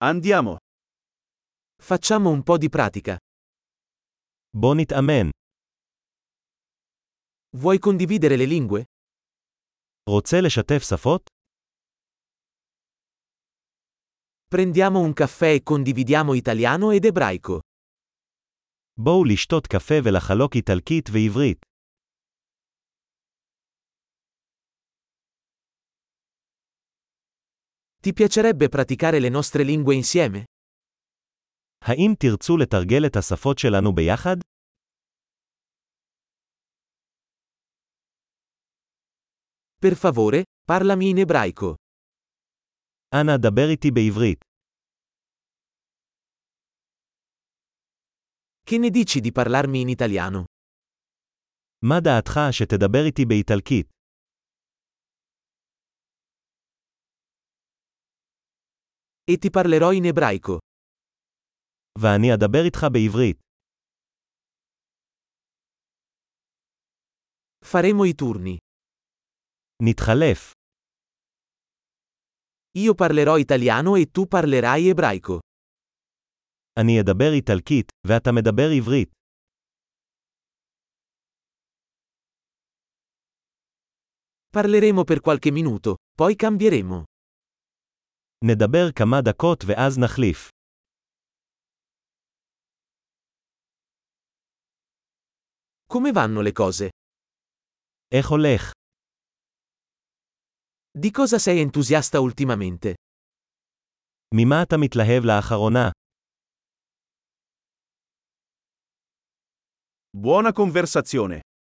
Andiamo. Facciamo un po' di pratica. בוא נתאמן. Vuoi condividere le lingue? רוצה לשתף שפות? Prendiamo un caffè e condividiamo italiano ed ebraico. בואו לשתות קפה ולחלוק איטלקית ועברית. Ti piacerebbe praticare le nostre lingue insieme? האם תרצו לתרגל את השפות שלנו ביחד? Per favore, parlami in ebraico. אנא דבר איתי בעברית. Che ne dici di parlarmi in italiano? מה דעתך שתדבר איתי באיטלקית? E ti parlerò in ebraico. ואני אדבר איתך בעברית. Faremo i turni. נתחלף. Io parlerò italiano e tu parlerai ebraico. אני אדבר איטלקית, ואתה מדבר עברית. Parleremo per qualche minuto, poi cambieremo. נדבר כמה דקות ואז נחליף. Come vanno le cose? איך הולך? Di cosa sei entusiasta ultimamente? ממה אתה מתלהב לאחרונה? Buona conversazione.